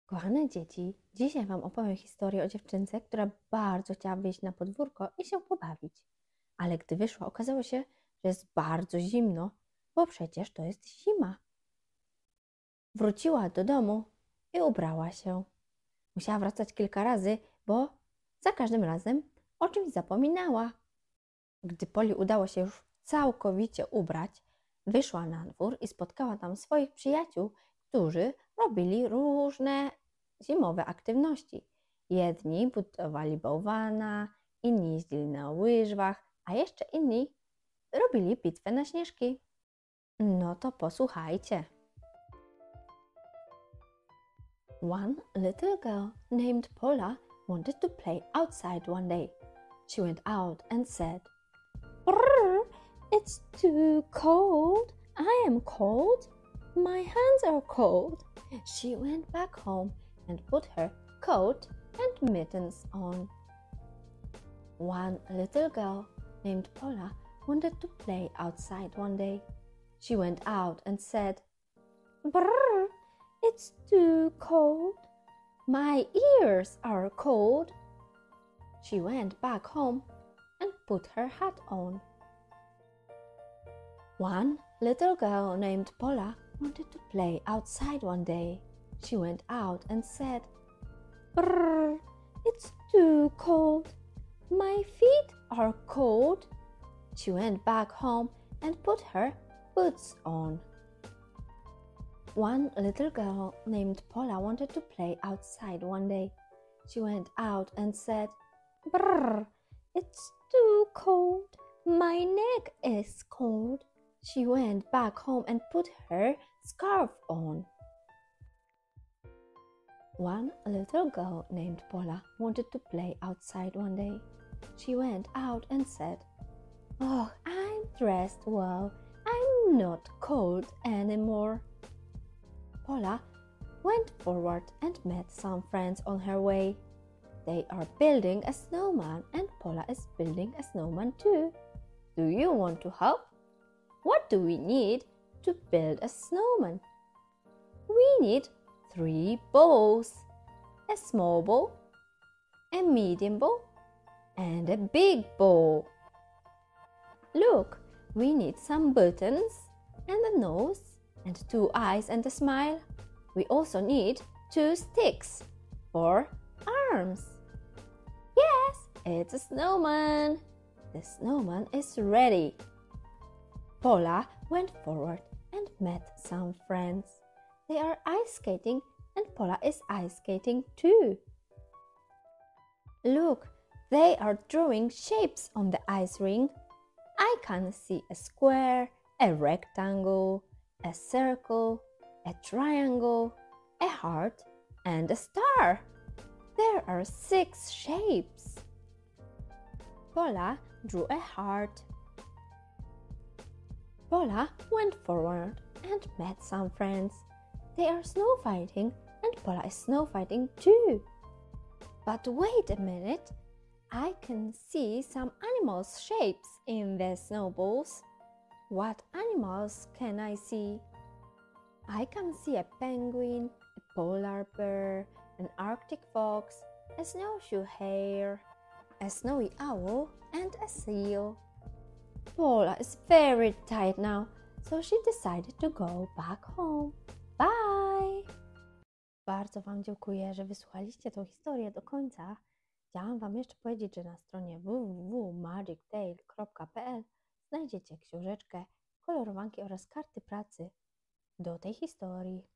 Kochane dzieci, dzisiaj Wam opowiem historię o dziewczynce, która bardzo chciała wyjść na podwórko i się pobawić. Ale gdy wyszła, okazało się, że jest bardzo zimno, bo przecież to jest zima. Wróciła do domu i ubrała się. Musiała wracać kilka razy, bo za każdym razem o czymś zapominała. Gdy Poli udało się już całkowicie ubrać, wyszła na dwór i spotkała tam swoich przyjaciół, którzy robili różne zimowe aktywności. Jedni budowali bałwana, inni jeździli na łyżwach, a jeszcze inni robili bitwę na śnieżki. No to posłuchajcie. One little girl named Paula wanted to play outside one day. She went out and said, "Brrr, it's too cold. I am cold. My hands are cold." She went back home and put her coat and mittens on. One little girl named Paula wanted to play outside one day. She went out and said, "Brrr, it's too cold. My ears are cold." She went back home and put her hat on. One little girl named Paula wanted to play outside one day. She went out and said, "Brrr, it's too cold. My feet are cold." She went back home and put her boots on. One little girl named Paula wanted to play outside one day. She went out and said, "Brrr, it's too cold. My neck is cold." She went back home and put her scarf on. One little girl named Paula wanted to play outside one day. She went out and said, "Oh, I'm dressed well. I'm not cold anymore." Paula went forward and met some friends on her way. They are building a snowman and Paula is building a snowman too. Do you want to help? What do we need to build a snowman? We need 3 balls, a small ball, a medium ball, and a big ball. Look, we need some buttons and a nose and 2 eyes and a smile. We also need 2 sticks for arms. Yes, it's a snowman. The snowman is ready. Paula went forward and met some friends. They are ice skating and Paula is ice skating too. Look, they are drawing shapes on the ice rink. I can see a square, a rectangle, a circle, a triangle, a heart, and a star. There are 6 shapes. Paula drew a heart. Paula went forward and met some friends. They are snow fighting and Paula is snow fighting too. But wait a minute, I can see some animals' shapes in the snowballs. What animals can I see? I can see a penguin, a polar bear, an Arctic fox, a snowshoe hare, a snowy owl, and a seal. Paula is very tired now, so she decided to go back home. Bye! Bardzo Wam dziękuję, że wysłuchaliście tą historię do końca. Chciałam Wam jeszcze powiedzieć, że na stronie www.magictale.pl znajdziecie książeczkę, kolorowanki oraz karty pracy do tej historii.